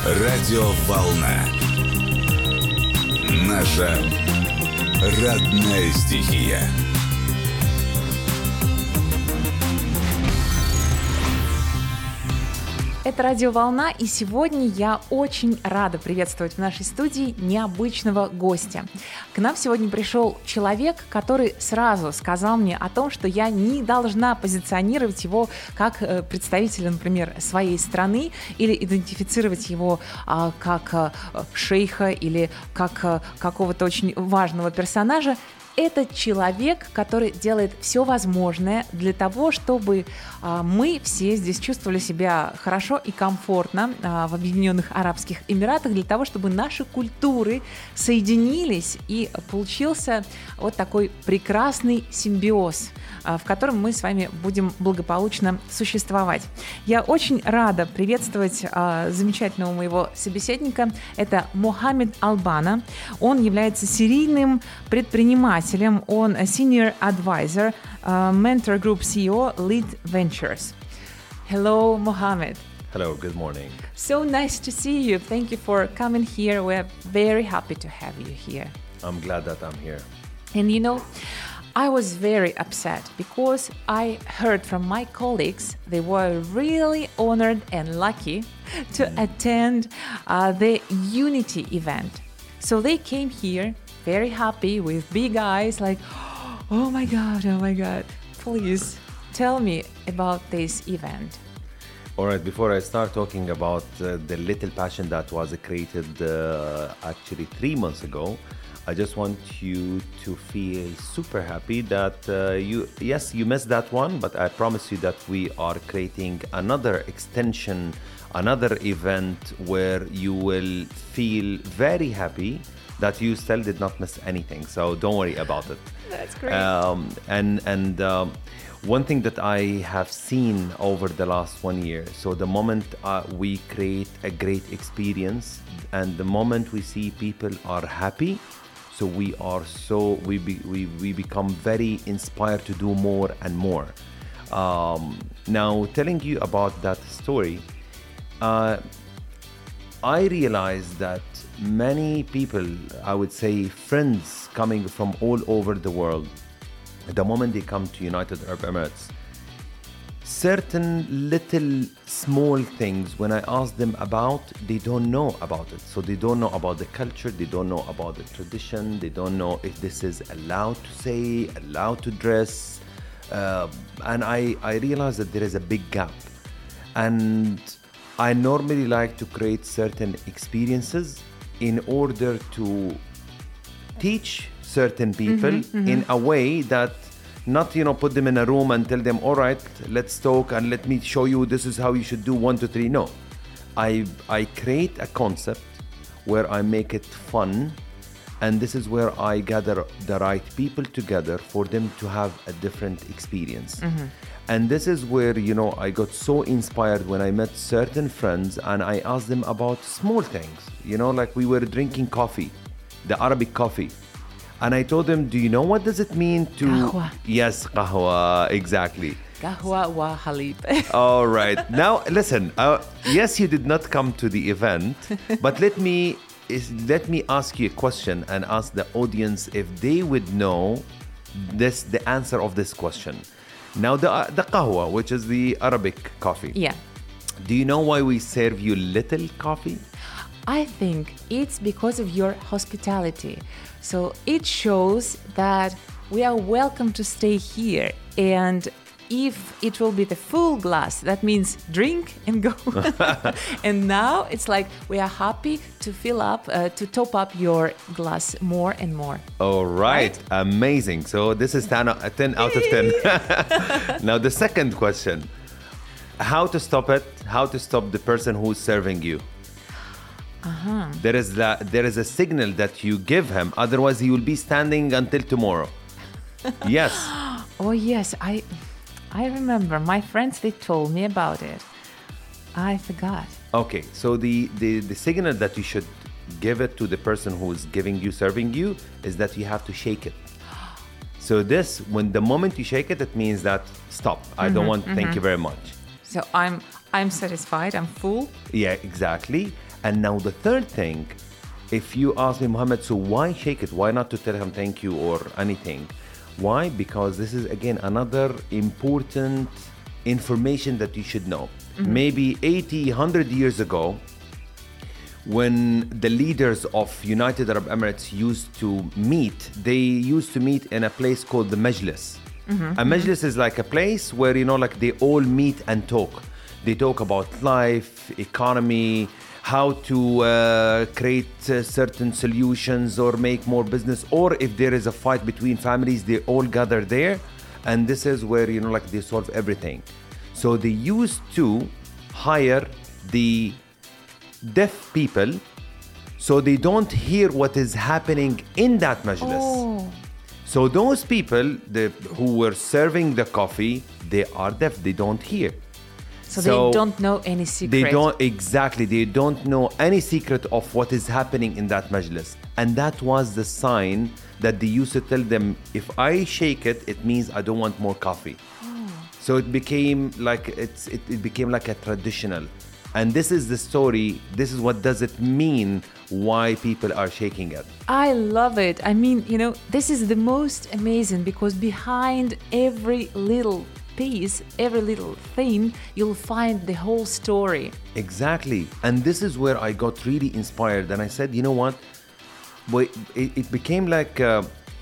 Радиоволна. Наша родная стихия. Это «Радиоволна», и сегодня я очень рада приветствовать в нашей студии необычного гостя. К нам сегодня пришел человек, который сразу сказал мне о том, что я не должна позиционировать его как представителя, например, своей страны или идентифицировать его как шейха или как какого-то очень важного персонажа. Это человек, который делает все возможное для того, чтобы мы все здесь чувствовали себя хорошо и комфортно в Объединенных Арабских Эмиратах, для того, чтобы наши культуры соединились и получился вот такой прекрасный симбиоз, в котором мы с вами будем благополучно существовать. Я очень рада приветствовать замечательного моего собеседника. Это Мохаммед Албана. Он является серийным предпринимателем. Он Senior Advisor, Mentor Group CEO, Lead Ventures. Hello, Mohammed. Hello, good morning. So nice to see you. Thank you for coming here. We're very happy to have you here. I'm glad that I'm here. And you know, I was very upset because I heard from my colleagues they were really honored and lucky to attend the Unity event. So they came here very happy with big eyes like, oh my God, please tell me about this event. All right, before I start talking about the little passion that was created actually 3 months ago, I just want you to feel super happy that you missed that one, but I promise you that we are creating another extension, another event where you will feel very happy that you still did not miss anything. So don't worry about it. That's great. One thing that I have seen over the last 1 year, so the moment we create a great experience and the moment we see people are happy, so we become very inspired to do more and more. Now, telling you about that story, I realized that many people, I would say friends coming from all over the world, the moment they come to United Arab Emirates, certain little small things, when I ask them about, they don't know about it. So they don't know about the culture, they don't know about the tradition, they don't know if this is allowed to say, allowed to dress. And I realized that there is a big gap. And I normally like to create certain experiences in order to teach certain people in a way that not, put them in a room and tell them, all right, let's talk and let me show you this is how you should do 1, 2, 3. No, I create a concept where I make it fun, and this is where I gather the right people together for them to have a different experience. And this is where, I got so inspired when I met certain friends and I asked them about small things, like we were drinking coffee, the Arabic coffee. And I told them, do you know what does it mean to... Qahwa. Yes, qahwa, exactly. Qahwa wa halib. All right. Now, listen, yes, you did not come to the event, but let me ask you a question and ask the audience if they would know the answer of this question. Now, the qahwa, which is the Arabic coffee. Yeah. Do you know why we serve you little coffee? I think it's because of your hospitality. So it shows that we are welcome to stay here. And if it will be the full glass, that means drink and go. And now it's like we are happy to fill up, to top up your glass more and more. All right. Amazing. So this is 10 out of 10. Now the second question, how to stop it? How to stop the person who's serving you? There is a signal that you give him, otherwise he will be standing until tomorrow. Yes. Oh yes, I remember. My friends, they told me about it. I forgot. Okay, so the signal that you should give it to the person who is serving you is that you have to shake it. So this, when the moment you shake it, it means that stop. I don't want. Thank you very much. So I'm satisfied. I'm full. Yeah, exactly. And now the third thing, if you ask me, Muhammad, so why shake it? Why not to tell him thank you or anything? Why? Because this is, again, another important information that you should know. Maybe 80, 100 years ago, when the leaders of United Arab Emirates used to meet, they used to meet in a place called the Majlis. A Majlis is like a place where, like they all meet and talk. They talk about life, economy, how to create certain solutions or make more business, or if there is a fight between families, they all gather there, and this is where they solve everything. So they used to hire the deaf people so they don't hear what is happening in that majlis. So those people who were serving the coffee, they are deaf, they don't hear. So they don't know any secret. They don't know any secret of what is happening in that majlis. And that was the sign that they used to tell them, if I shake it, it means I don't want more coffee. So it became like it became like a traditional. And this is the story. This is what does it mean why people are shaking it. I love it. I mean, this is the most amazing, because behind every little piece, every little thing, you'll find the whole story. Exactly. And this is where I got really inspired. And I said, you know what? It became like a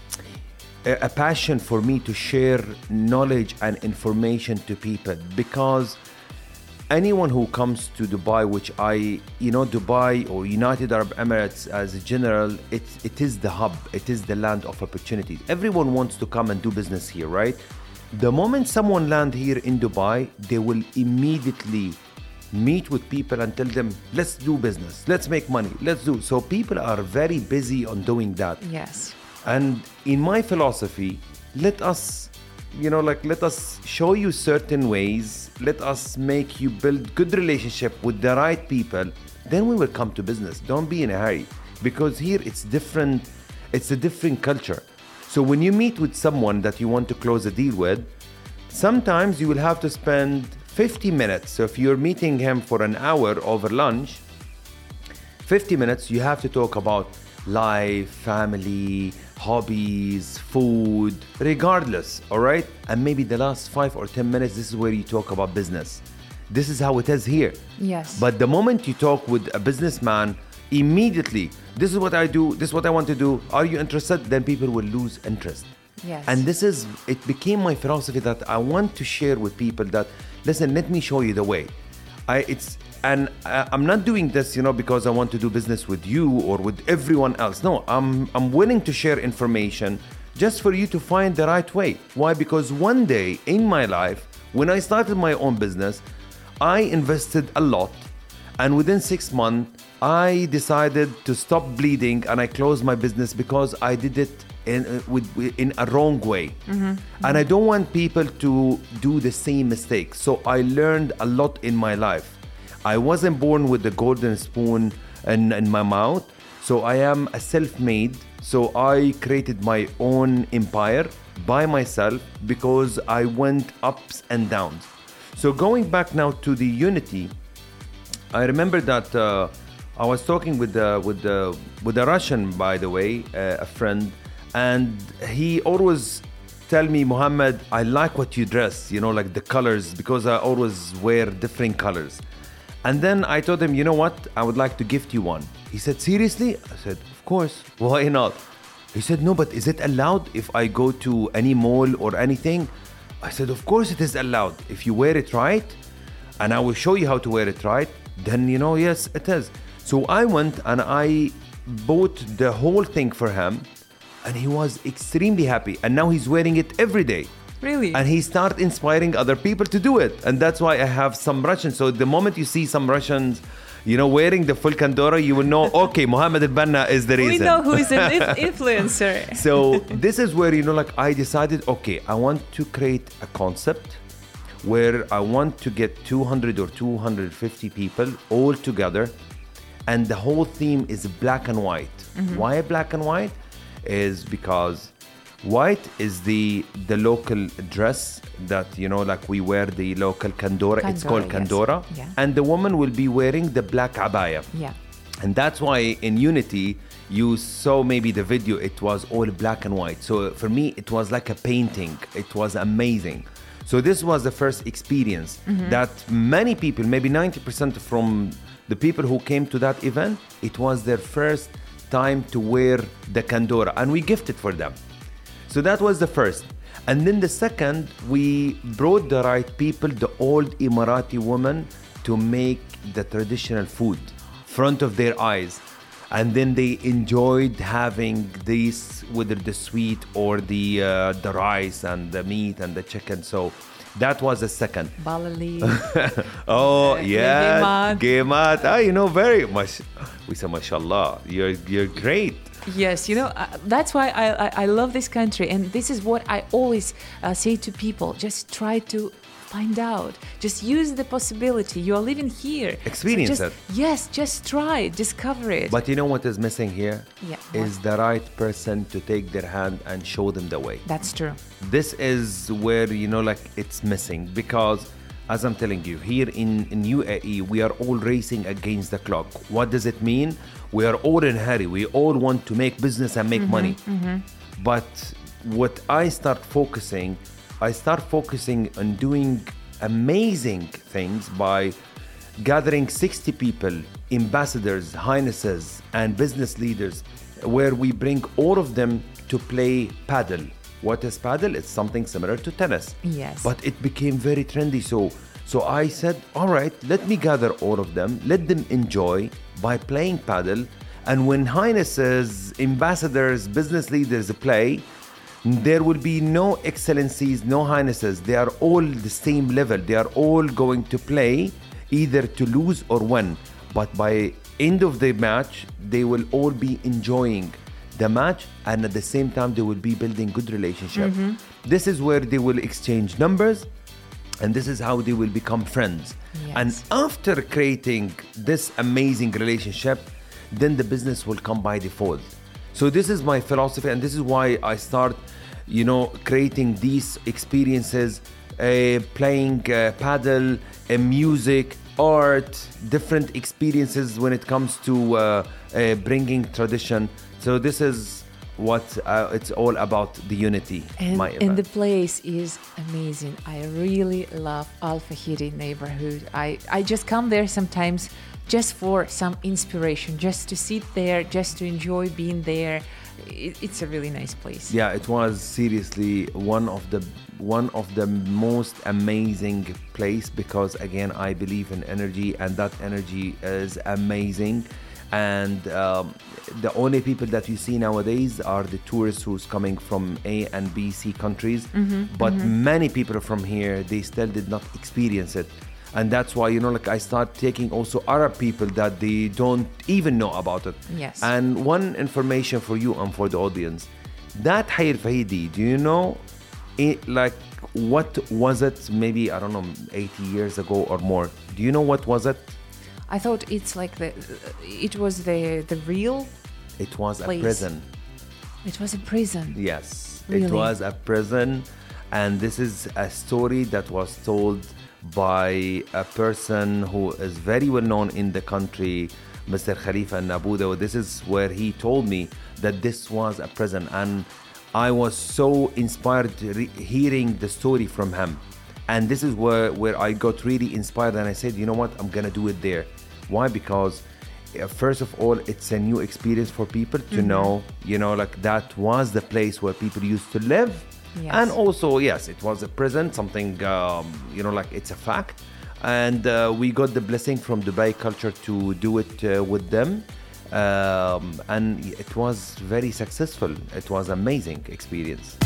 passion for me to share knowledge and information to people, because anyone who comes to Dubai, which Dubai or United Arab Emirates as a general, it is the hub, it is the land of opportunities. Everyone wants to come and do business here, right? The moment someone lands here in Dubai, they will immediately meet with people and tell them, let's do business, let's make money, let's do. So people are very busy on doing that. Yes. And in my philosophy, let us show you certain ways. Let us make you build good relationship with the right people. Then we will come to business. Don't be in a hurry, because here it's different. It's a different culture. So when you meet with someone that you want to close a deal with, sometimes you will have to spend 50 minutes. So if you're meeting him for an hour over lunch, 50 minutes, you have to talk about life, family, hobbies, food, regardless, all right? And maybe the last 5 or 10 minutes, this is where you talk about business. This is how it is here. Yes. But the moment you talk with a businessman, immediately, this is what I do, this is what I want to do, are you interested? Then people will lose interest. Yes. And it became my philosophy that I want to share with people that, listen, let me show you the way. I'm not doing this, because I want to do business with you or with everyone else. No, I'm willing to share information just for you to find the right way. Why? Because one day in my life, when I started my own business, I invested a lot. And within 6 months, I decided to stop bleeding and I closed my business because I did it in a wrong way. And I don't want people to do the same mistake. So I learned a lot in my life. I wasn't born with the golden spoon in my mouth. So I am a self-made. So I created my own empire by myself because I went ups and downs. So going back now to the unity, I remember that I was talking with a Russian, by the way, a friend, and he always tell me, Muhammad, I like what you dress, like the colors, because I always wear different colors. And then I told him, you know what? I would like to gift you one. He said, seriously? I said, of course. Why not? He said, no, but is it allowed if I go to any mall or anything? I said, of course it is allowed. If you wear it right, and I will show you how to wear it right, then, yes, it is. So I went and I bought the whole thing for him, and he was extremely happy. And now he's wearing it every day. Really? And he started inspiring other people to do it. And that's why I have some Russians. So the moment you see some Russians, wearing the full Kandora, you will know, okay, Mohammed Al-Banna is the reason. We know who is an influencer. So this is where, I decided, okay, I want to create a concept where I want to get 200 or 250 people all together. And the whole theme is black and white. Why black and white? Is because white is the local dress that, we wear the local Kandora. It's called Kandora. Yes. Yeah. And the woman will be wearing the black abaya. Yeah. And that's why in Unity, you saw maybe the video, it was all black and white. So for me, it was like a painting. It was amazing. So this was the first experience that many people, maybe 90% from the people who came to that event, it was their first time to wear the Kandora, and we gifted for them. So that was the first. And then the second, we brought the right people, the old Emirati women, to make the traditional food front of their eyes. And then they enjoyed having this, whether the sweet or the rice and the meat and the chicken. So that was the second. Balali. Oh, yeah. Gemat. Gemat. Ah, you know, very much. We say, mashallah, you're great. Yes, that's why I love this country. And this is what I always say to people. Just try to find out. Just use the possibility. You are living here. Experience so it. Yes, just try, discover it. But you know what is missing here? Yeah, Is the right person to take their hand and show them the way. That's true. This is where, it's missing, because as I'm telling you, here in UAE, we are all racing against the clock. What does it mean? We are all in a hurry. We all want to make business and make money. But what I start focusing on doing amazing things by gathering 60 people, ambassadors, highnesses, and business leaders, where we bring all of them to play paddle. What is paddle? It's something similar to tennis. Yes. But it became very trendy. So I said, all right, let me gather all of them, let them enjoy by playing paddle. And when highnesses, ambassadors, business leaders play, there will be no excellencies, no highnesses. They are all the same level. They are all going to play either to lose or win. But by end of the match, they will all be enjoying the match, and at the same time, they will be building good relationship. This is where they will exchange numbers, and this is how they will become friends. Yes. And after creating this amazing relationship, then the business will come by default. So this is my philosophy, and this is why I start, creating these experiences, playing paddle, music, art, different experiences when it comes to bringing tradition. So this is what it's all about, the Unity. And the place is amazing. I really love Al Fahiri neighborhood. I just come there sometimes just for some inspiration, just to sit there, just to enjoy being there. It's a really nice place. Yeah, it was seriously one of the most amazing place, because again, I believe in energy, and that energy is amazing. And the only people that you see nowadays are the tourists who's coming from A and B, C countries. But many people from here, they still did not experience it. And that's why, I start taking also Arab people that they don't even know about it. Yes. And one information for you and for the audience, that Hayy Al Fahidi, do you know, what was it? Maybe, 80 years ago or more. Do you know what was it? I thought it was the real It was place. a prison. It was a prison. Yes, Really? It was a prison. And this is a story that was told by a person who is very well known in the country, Mr. Khalifa Nabuda. This is where he told me that this was a prison. And I was so inspired hearing the story from him. And this is where I got really inspired, and I said, you know what, I'm gonna do it there. Why? Because first of all, it's a new experience for people to know, that was the place where people used to live. Yes. And also, yes, it was a prison, something, it's a fact. And we got the blessing from Dubai Culture to do it with them. And it was very successful. It was amazing experience.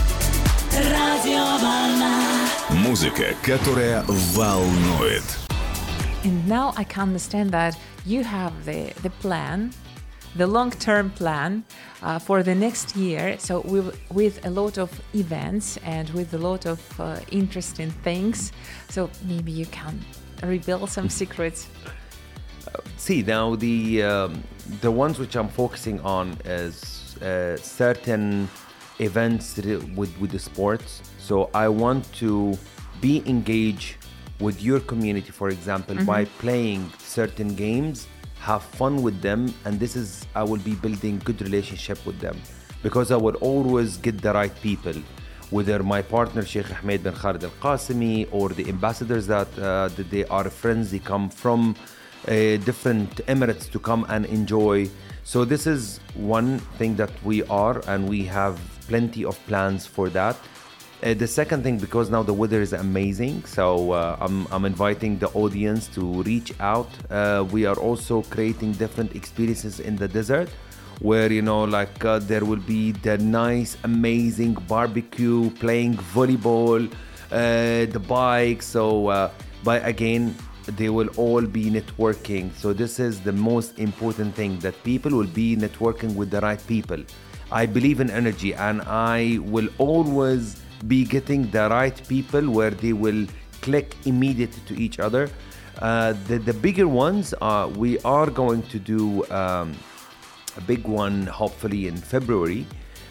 Музыка, которая волнует. And now I can understand that you have the plan, the long-term plan for the next year. So with a lot of events and with a lot of interesting things. So maybe you can reveal some secrets. See, now the ones which I'm focusing on is certain events with the sports. So I want to be engaged with your community, for example, by playing certain games have fun with them, and I will be building good relationship with them, because I will always get the right people, whether my partner Sheikh Ahmed bin Khalid Al Qasimi or the ambassadors that they are friends, they come from different emirates to come and enjoy. So this is one thing that we are, and we have plenty of plans for that. The second thing, because now the weather is amazing, so I'm inviting the audience to reach out. We are also creating different experiences in the desert, where there will be the nice, amazing barbecue, playing volleyball, the bike. So, but again, they will all be networking. So this is the most important thing, that people will be networking with the right people. I believe in energy, and I will always be getting the right people where they will click immediately to each other. The bigger ones, we are going to do a big one hopefully in February,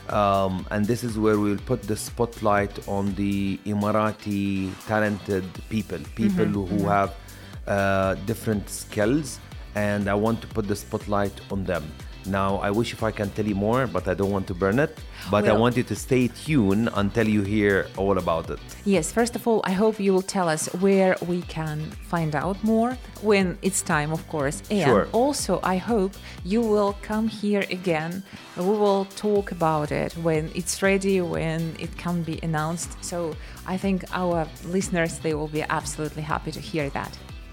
and this is where we'll put the spotlight on the Emirati talented people who have different skills, and I want to put the spotlight on them. Now, I wish if I can tell you more, but I don't want to burn it. But I want you to stay tuned until you hear all about it. Yes, first of all, I hope you will tell us where we can find out more when it's time, of course. And Sure. Also, I hope you will come here again. We will talk about it when it's ready, when it can be announced. So I think our listeners, they will be absolutely happy to hear that.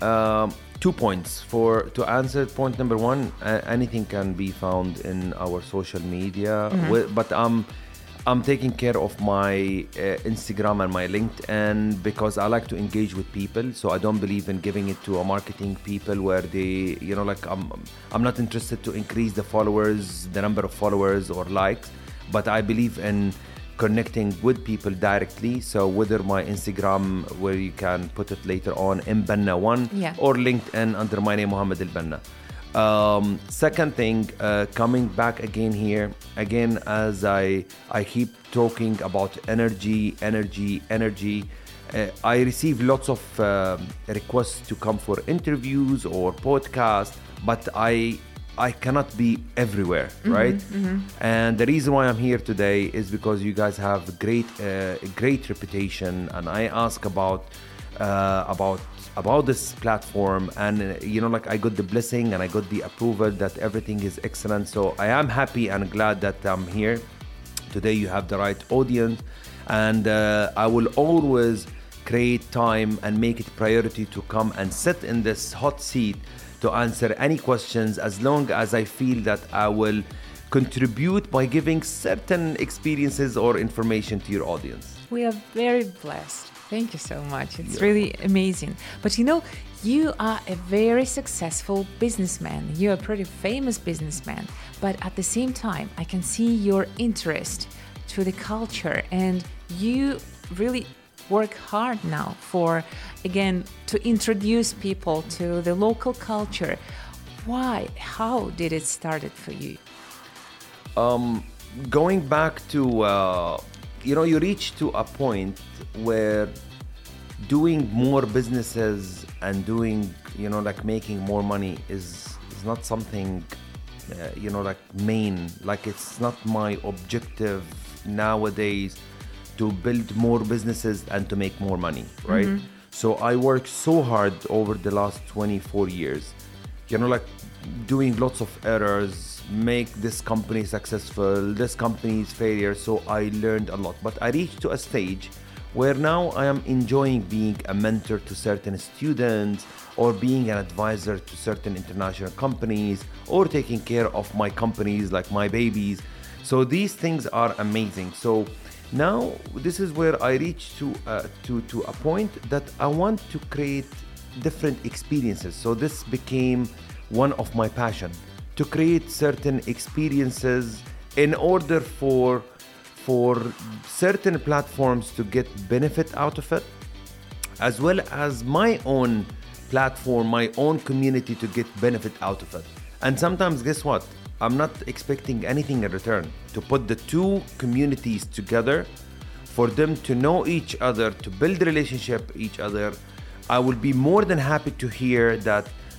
2 points. To answer point number one, anything can be found in our social media, but I'm taking care of my Instagram and my LinkedIn, because I like to engage with people. So I don't believe in giving it to a marketing people where they, I'm not interested to increase the followers, the number of followers or likes, but I believe in connecting with people directly. So whether my Instagram, where you can put it later on, Mbanna1, or LinkedIn under my name, Mohammed Al Banna. Second thing, coming back again here, as I keep talking about energy, I receive lots of requests to come for interviews or podcasts, but I cannot be everywhere, right? And the reason why I'm here today is because you guys have a great reputation, and I ask about this platform, and I got the blessing and I got the approval that everything is excellent. So I am happy and glad that I'm here today. You have the right audience, and I will always create time and make it priority to come and sit in this hot seat to answer any questions, as long as I feel that I will contribute by giving certain experiences or information to your audience. We are very blessed. Thank you so much. It's really amazing. But you are a very successful businessman. You're a pretty famous businessman. But at the same time, I can see your interest to the culture, and you really work hard now to introduce people to the local culture. Why? How did it start for you? Going back to, you reach to a point where doing more businesses and doing, making more money is not something, main. It's not my objective nowadays to build more businesses and to make more money, right? So I worked so hard over the last 24 years, doing lots of errors, make this company successful, this company's failure. So I learned a lot, but I reached to a stage where now I am enjoying being a mentor to certain students, or being an advisor to certain international companies, or taking care of my companies like my babies. So these things are amazing. So now this is where I reach to a point that I want to create different experiences. So this became one of my passion, to create certain experiences in order for certain platforms to get benefit out of it, as well as my own platform, my own community to get benefit out of it. And sometimes, guess what? I'm not expecting anything in return. To put the two communities together, for them to know each other, to build a relationship with each other, I will be more than happy to hear that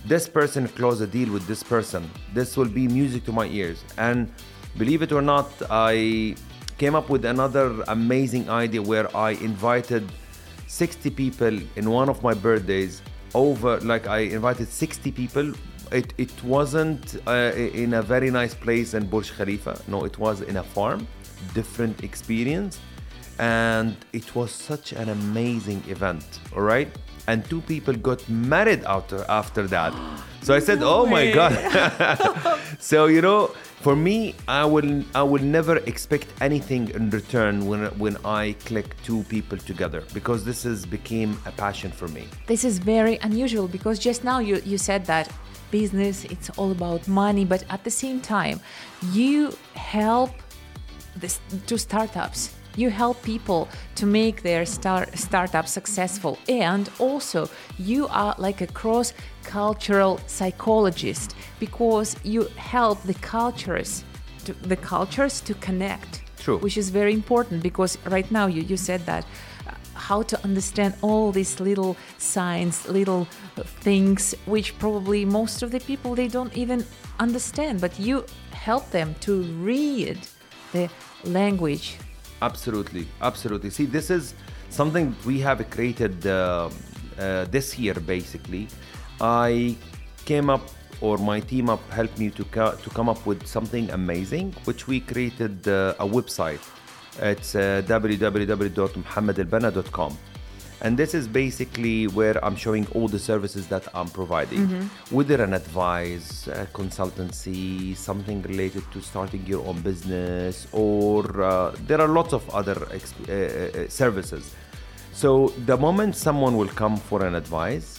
this person close a deal with this person. This will be music to my ears. And believe it or not, I came up with another amazing idea where I invited 60 people in one of my birthdays over, like I invited 60 people. It wasn't in a very nice place in Burj Khalifa. No, it was in a farm, different experience. And it was such an amazing event, all right? And 2 people got married after that. So I said, oh my God. So, you know, for me, I will never expect anything in return when I click 2 people together, because this has became a passion for me. This is very unusual, because just now you said that business, it's all about money, but at the same time, you help the 2 startups. You help people to make their startup successful, and also you are like a cross-cultural psychologist, because you help the cultures to connect. True. Which is very important, because right now you said that how to understand all these little signs, little things, which probably most of the people, they don't even understand, but you help them to read the language. Absolutely. See, this is something we have created this year, basically. I came up, or my team up helped me to come up with something amazing, which we created a website. It's www.mohammedelbanna.com. And this is basically where I'm showing all the services that I'm providing, whether an advice, a consultancy, something related to starting your own business, or there are lots of other services. So the moment someone will come for an advice,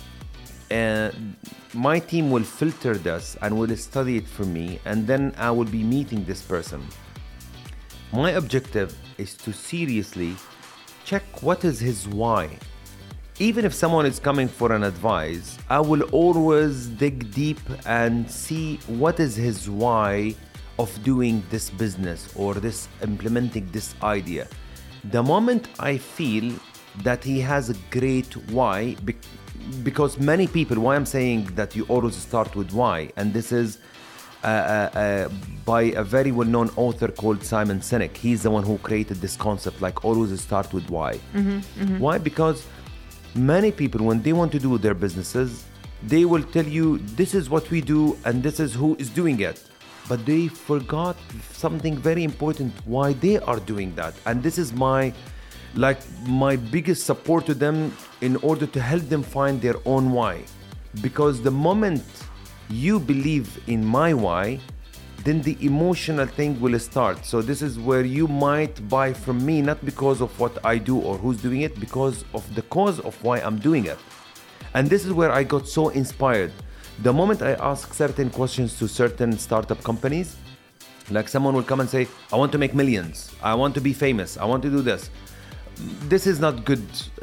my team will filter this and will study it for me, and then I will be meeting this person. My objective is to seriously check what is his why. Even if someone is coming for an advice, I will always dig deep and see what is his why of doing this business or implementing this idea. The moment I feel that he has a great why, because many people, why I'm saying that you always start with why, and this is by a very well-known author called Simon Sinek. He's the one who created this concept, like always start with why. Why? Because many people, when they want to do their businesses, they will tell you, this is what we do and this is who is doing it. But they forgot something very important, why they are doing that. And this is my biggest support to them, in order to help them find their own why. Because the moment you believe in my why, then the emotional thing will start. So this is where you might buy from me, not because of what I do or who's doing it, because of the cause of why I'm doing it. And this is where I got so inspired. The moment I ask certain questions to certain startup companies, like someone will come and say, I want to make millions, I want to be famous, I want to do this. This is not good,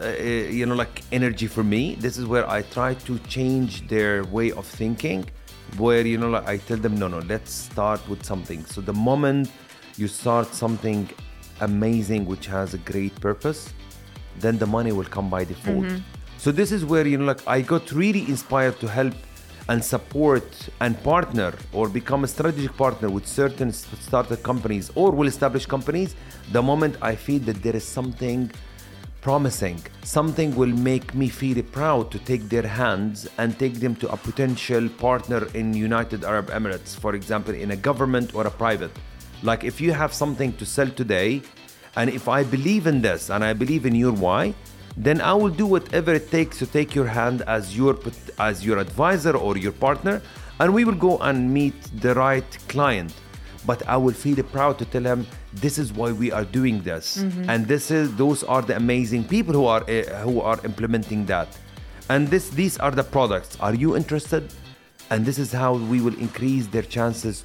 energy for me. This is where I try to change their way of thinking, where, I tell them, no, let's start with something. So the moment you start something amazing, which has a great purpose, then the money will come by default. So this is where, I got really inspired to help and support and partner, or become a strategic partner with certain startup companies or well-established companies. The moment I feel that there is something promising, something will make me feel proud to take their hands and take them to a potential partner in United Arab Emirates, for example, in a government or a private. Like if you have something to sell today, and if I believe in this and I believe in your why, then I will do whatever it takes to take your hand as your advisor or your partner, and we will go and meet the right client. But I will feel proud to tell him, this is why we are doing this, and those are the amazing people who are implementing that, and these are the products. Are you interested? And this is how we will increase their chances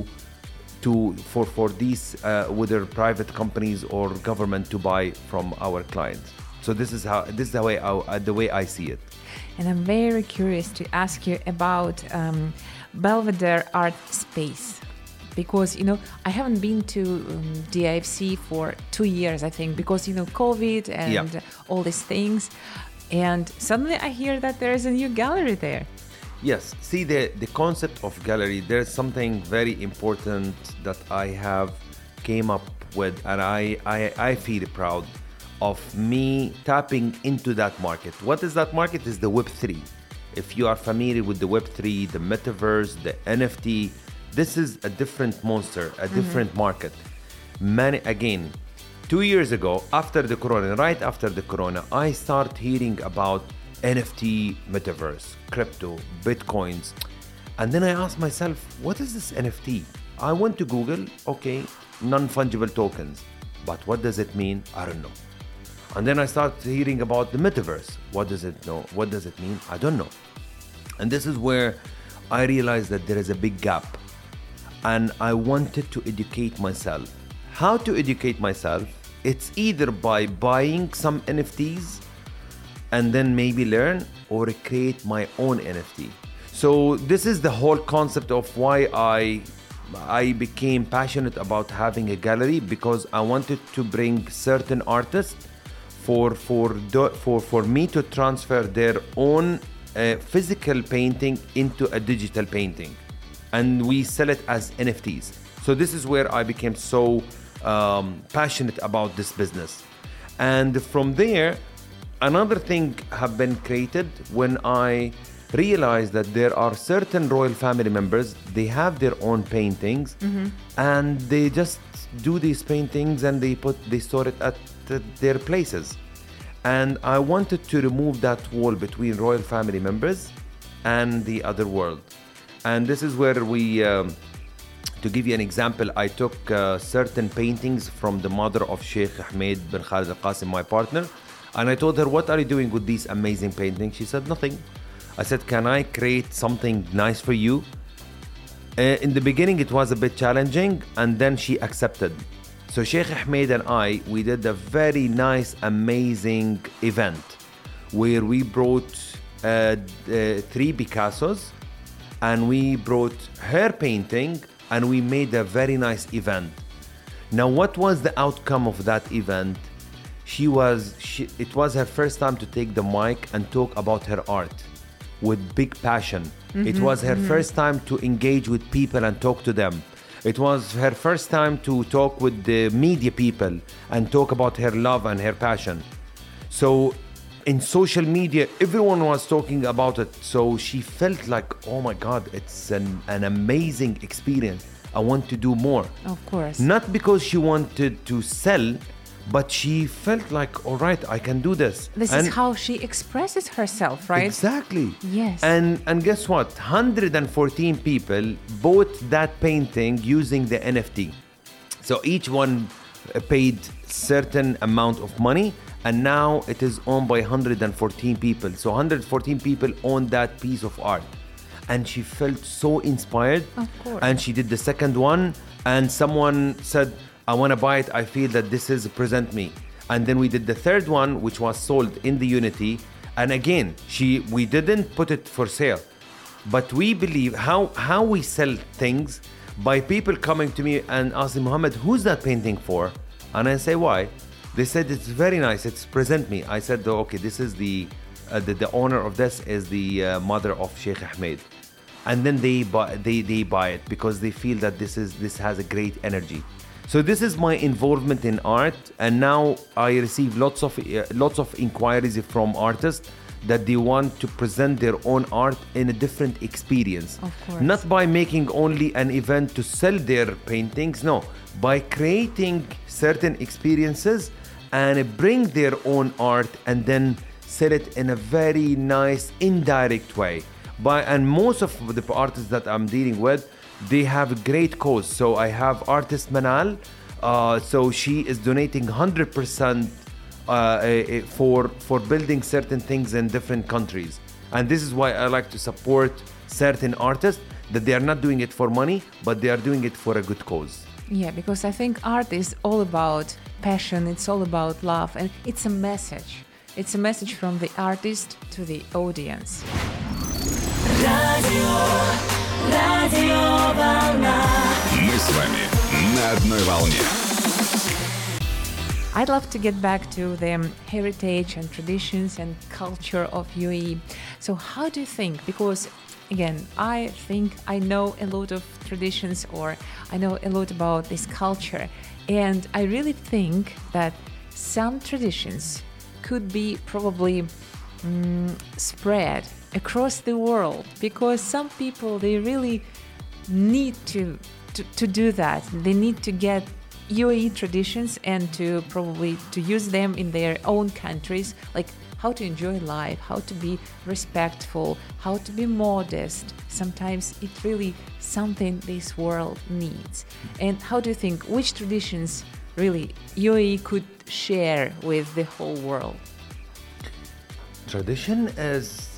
for these whether private companies or government to buy from our clients. So this is the way I see it. And I'm very curious to ask you about Belvedere Art Space, because I haven't been to DIFC for 2 years, I think, because COVID and all these things, and suddenly I hear that there is a new gallery there. Yes. See, the concept of gallery, there's something very important that I have came up with, and I feel proud of me tapping into that market. What is that market? Is the Web3. If you are familiar with the Web3, the metaverse, the NFT, this is a different monster, a different market. Again, 2 years ago, after the corona, right after the corona, I started hearing about NFT, metaverse, crypto, bitcoins. And then I asked myself, what is this NFT? I went to Google, okay, non-fungible tokens. But what does it mean? I don't know. And then I started hearing about the metaverse. What does it mean? I don't know. And this is where I realized that there is a big gap. And I wanted to educate myself. How to educate myself? It's either by buying some NFTs and then maybe learn, or create my own NFT. So this is the whole concept of why I became passionate about having a gallery, because I wanted to bring certain artists for me to transfer their own physical painting into a digital painting, and we sell it as NFTs. So this is where I became so passionate about this business. And from there, another thing have been created when I realized that there are certain royal family members, they have their own paintings, and they just do these paintings and they store it at their places. And I wanted to remove that wall between royal family members and the other world. And this is where we, to give you an example, I took certain paintings from the mother of Sheikh Ahmed bin Khalid Al Qasim, my partner, and I told her, what are you doing with these amazing paintings? She said, nothing. I said, can I create something nice for you? In the beginning, it was a bit challenging, and then she accepted. So Sheikh Ahmed and we did a very nice, amazing event where we brought 3 Picassos, and we brought her painting, and we made a very nice event. Now, what was the outcome of that event? It was her first time to take the mic and talk about her art with big passion. It was her first time to engage with people and talk to them. It was her first time to talk with the media people and talk about her love and her passion. So in social media, everyone was talking about it. So she felt like, oh my God, it's an amazing experience. I want to do more. Of course. Not because she wanted to sell, but she felt like, all right, I can do this. This is how she expresses herself, right? Exactly. Yes. And guess what? 114 people bought that painting using the NFT. So each one paid certain amount of money, and now it is owned by 114 people. So 114 people own that piece of art. And she felt so inspired. Of course. And she did the second one, and someone said, I want to buy it. I feel that this is present me. And then we did the third one, which was sold in the Unity. And again, we didn't put it for sale, but we believe how we sell things by people coming to me and asking, Mohammed, who's that painting for? And I say, why? They said, it's very nice. It's present me. I said, okay, this is the owner of this is the mother of Sheikh Ahmed. And then they buy it because they feel that this has a great energy. So this is my involvement in art, and now I receive lots of inquiries from artists that they want to present their own art in a different experience. Of course. Not by making only an event to sell their paintings, no, by creating certain experiences and bring their own art and then sell it in a very nice indirect way. And most of the artists that I'm dealing with, they have a great cause. So I have artist Manal. So she is donating 100% for building certain things in different countries. And this is why I like to support certain artists, that they are not doing it for money, but they are doing it for a good cause. Yeah, because I think art is all about passion. It's all about love. And it's a message. It's a message from the artist to the audience. Мы с вами на одной волне. I'd love to get back to the heritage and traditions and culture of UAE. So how do you think? Because again, I think I know a lot of traditions, or I know a lot about this culture. And I really think that some traditions could be probably spread across the world, because some people, they really need to do that. They need to get UAE traditions and to probably to use them in their own countries, like how to enjoy life, how to be respectful, how to be modest. Sometimes it's really something this world needs. And how do you think, which traditions really UAE could share with the whole world? Tradition is,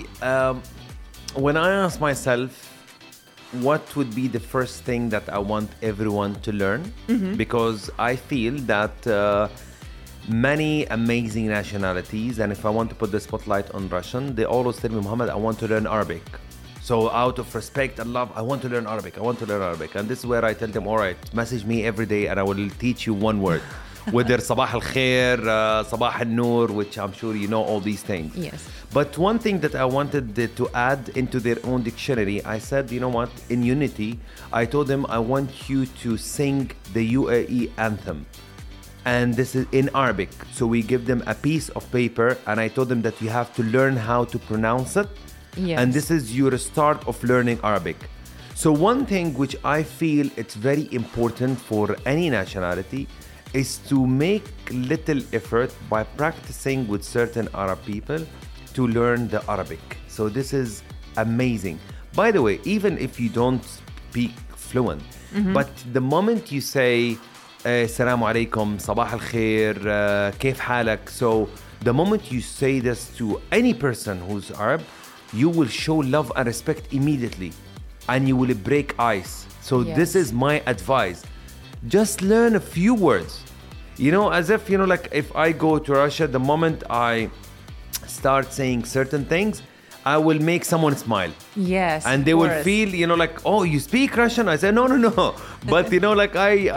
when I ask myself, what would be the first thing that I want everyone to learn? Because I feel that many amazing nationalities, and if I want to put the spotlight on Russian, they always tell me, Muhammad, I want to learn Arabic. So out of respect and love, I want to learn Arabic. And this is where I tell them, all right, message me every day and I will teach you one word. Whether Sabah al-Khair, Sabah al-Noor, which I'm sure you know all these things. Yes. But one thing that I wanted to add into their own dictionary, I said, you know what, in Unity, I told them I want you to sing the UAE anthem. And this is in Arabic. So we give them a piece of paper and I told them that you have to learn how to pronounce it. Yes. And this is your start of learning Arabic. So one thing which I feel it's very important for any nationality is to make little effort by practicing with certain Arab people to learn the Arabic. So this is amazing. By the way, even if you don't speak fluent, but the moment you say Assalamu alaikum, Sabah al-Khair, Kaif halak, so the moment you say this to any person who's Arab, you will show love and respect immediately and you will break ice. So this is my advice. Just learn a few words. You know, as if, you know, like if I go to Russia, the moment I start saying certain things, I will make someone smile. Yes. And they will feel, you know, like, oh, you speak Russian? I said, no. But, you know, like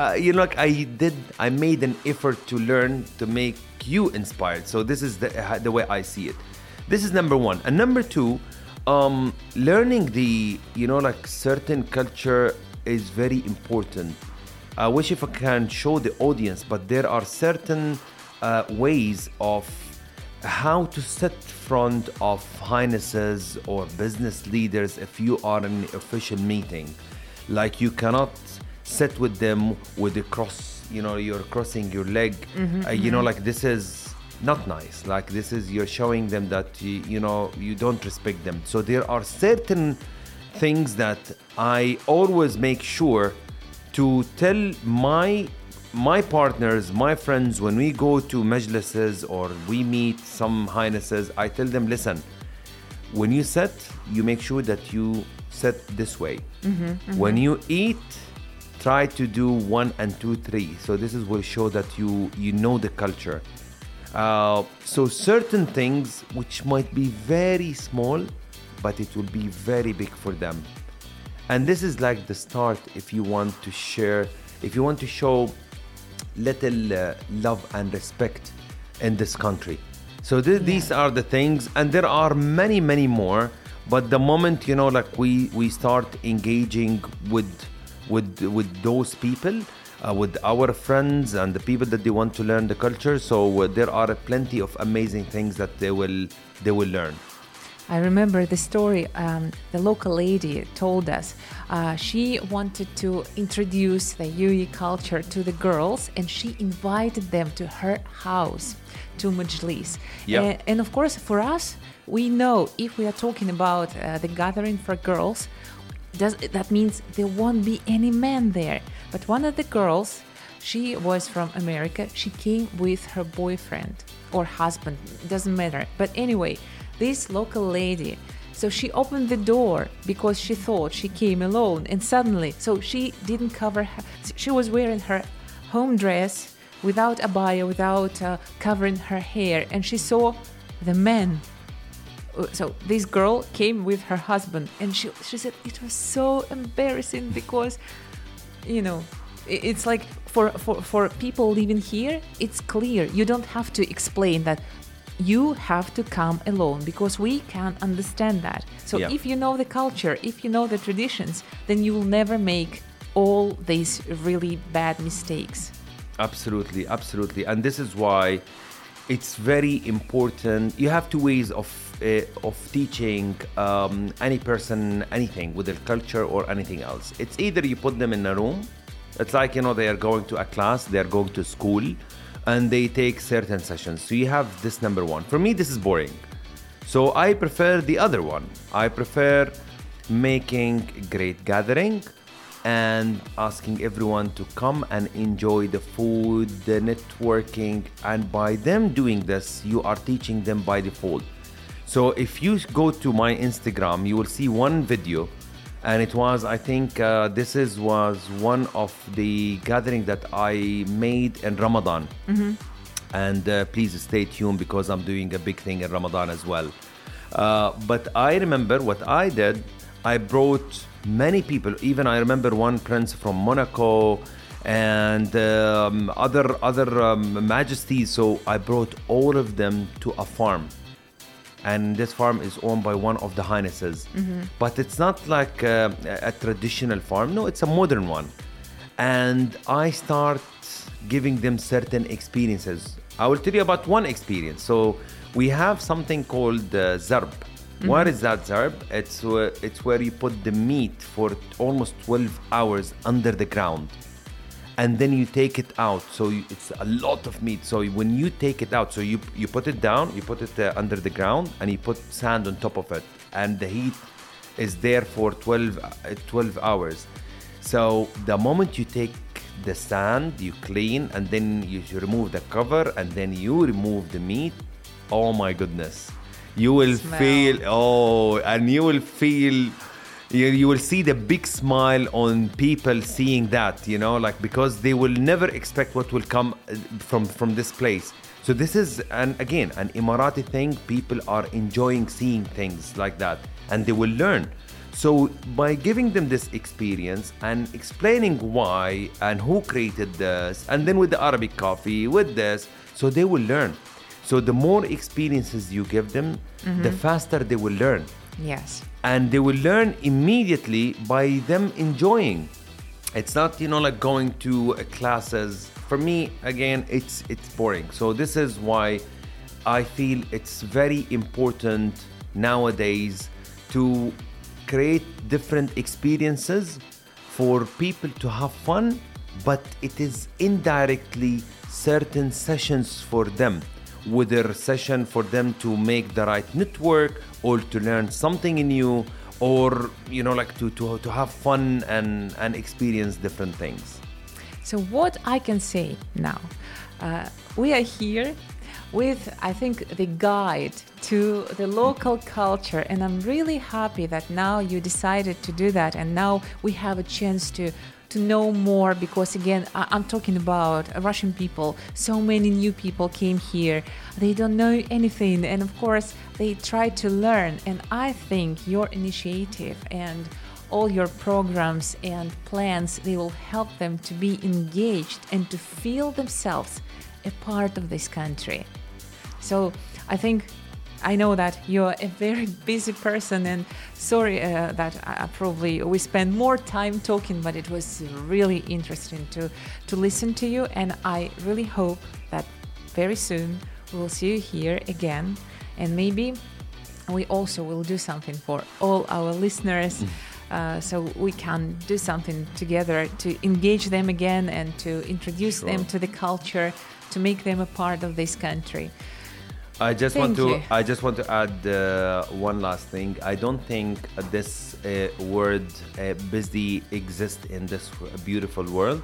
I made an effort to learn to make you inspired. So this is the way I see it. This is number one. And number two, learning the, you know, like certain culture is very important. I wish if I can show the audience, but there are certain ways of how to sit front of highnesses or business leaders if you are in an official meeting. Like you cannot sit with them with the cross, you know, you're crossing your leg. You know, like this is not nice. Like this is, you're showing them that, you know, you don't respect them. So there are certain things that I always make sure to tell my partners, my friends, when we go to majlises or we meet some highnesses, I tell them, listen, when you sit, you make sure that you sit this way. When you eat, try to do 1 and 2, 3. So this is will show that you know the culture. So certain things which might be very small, but it will be very big for them. And this is like the start if you want to share, if you want to show little love and respect in this country. So these are the things, and there are many more, but the moment, you know, like we start engaging with those people, with our friends and the people that they want to learn the culture, so there are plenty of amazing things that they will learn. I remember the story the local lady told us. She wanted to introduce the UAE culture to the girls, and she invited them to her house, to Majlis. Yep. And of course, for us, we know if we are talking about the gathering for girls, that means there won't be any men there. But one of the girls, she was from America. She came with her boyfriend or husband, doesn't matter. But anyway, this local lady, so she opened the door because she thought she came alone, and suddenly, so she didn't cover her, she was wearing her home dress without abaya, without covering her hair, and she saw the men. So this girl came with her husband, and she said it was so embarrassing because, you know, it's like for people living here, it's clear. You don't have to explain that you have to come alone because we can't understand that. So Yeah. if you know the culture, if you know the traditions, then you will never make all these really bad mistakes. Absolutely, absolutely. And this is why it's very important. You have two ways of teaching any person anything with their culture or anything else. It's either you put them in a room. It's like, they are going to a class, they are going to school, and they take certain sessions. So you have this number one. For me, this is boring. So I prefer the other one. I prefer making great gathering and asking everyone to come and enjoy the food, the networking, and by them doing this, you are teaching them by default. So if you go to my Instagram, you will see one video, and it was, I think, was one of the gathering that I made in Ramadan. Mm-hmm. And please stay tuned because I'm doing a big thing in Ramadan as well. But I remember what I did. I brought many people. Even I remember one prince from Monaco and other majesties. So I brought all of them to a farm. And this farm is owned by one of the highnesses. Mm-hmm. But it's not like a traditional farm. No, it's a modern one. And I start giving them certain experiences. I will tell you about one experience. So we have something called zarb. Mm-hmm. What is that zarb? It's where you put the meat for almost 12 hours under the ground. And then you take it out. So it's a lot of meat. So when you take it out, so you put it down, you put it under the ground, and you put sand on top of it. And the heat is there for 12 hours. So the moment you take the sand, you clean, and then you remove the cover, and then you remove the meat. Oh my goodness. You will feel, and you will feel... You will see the big smile on people seeing that, because they will never expect what will come from this place. So this is, an Emirati thing. People are enjoying seeing things like that, and they will learn. So by giving them this experience and explaining why and who created this, and then with the Arabic coffee, with this, so they will learn. So the more experiences you give them, mm-hmm. the faster they will learn. Yes. And they will learn immediately by them enjoying. It's not, like going to classes. For me, again, it's boring. So this is why I feel it's very important nowadays to create different experiences for people to have fun, but it is indirectly certain sessions for them. Whether a session for them to make the right network or to learn something new, or to have fun and experience different things. So what I can say now, we are here with, I think, the guide to the local culture, and I'm really happy that now you decided to do that, and now we have a chance to know more, because again, I'm talking about Russian people. So many new people came here. They don't know anything, and of course they try to learn. And I think your initiative and all your programs and plans, they will help them to be engaged and to feel themselves a part of this country. So I know that you're a very busy person, and sorry that we spent more time talking, but it was really interesting to listen to you, and I really hope that very soon we'll see you here again, and maybe we also will do something for all our listeners, so we can do something together to engage them again and to introduce them to the culture, to make them a part of this country. I just want to add one last thing. I don't think this word busy exists in this beautiful world.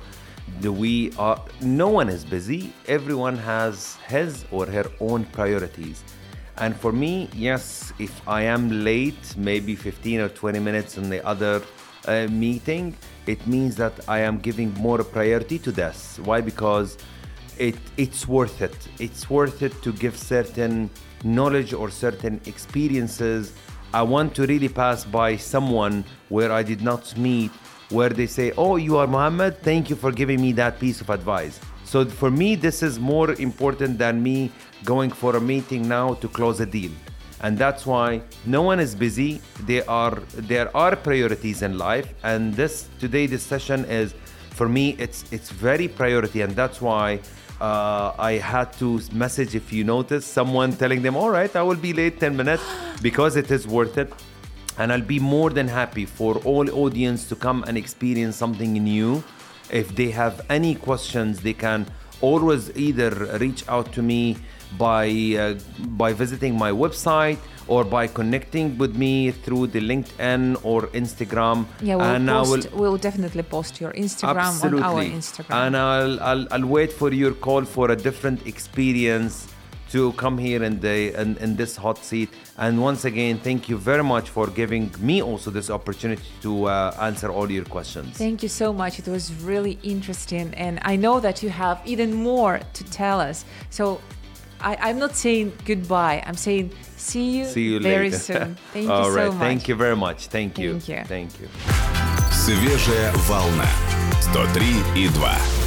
No one is busy. Everyone has his or her own priorities. And for me, yes, if I am late, maybe 15 or 20 minutes in the other meeting, it means that I am giving more priority to this. Why? Because it's worth it. It's worth it to give certain knowledge or certain experiences. I want to really pass by someone where I did not meet, where they say, oh, you are Mohammed, thank you for giving me that piece of advice. So for me, this is more important than me going for a meeting now to close a deal. And that's why no one is busy. There are priorities in life. And this session is, for me, it's very priority. And that's why I had to message, if you notice, someone telling them, all right, I will be late 10 minutes because it is worth it. And I'll be more than happy for all audience to come and experience something new. If they have any questions, they can always either reach out to me by visiting my website or by connecting with me through the LinkedIn or Instagram. Yeah, we'll definitely post your Instagram absolutely. On our Instagram. And I'll wait for your call for a different experience to come here in this hot seat. And once again, thank you very much for giving me also this opportunity to answer all your questions. Thank you so much. It was really interesting. And I know that you have even more to tell us. So I'm not saying goodbye. I'm saying see you very later. Soon. Thank all you right. so much. Thank you very much. Thank you. Thank you. Свежая волна. 103,2.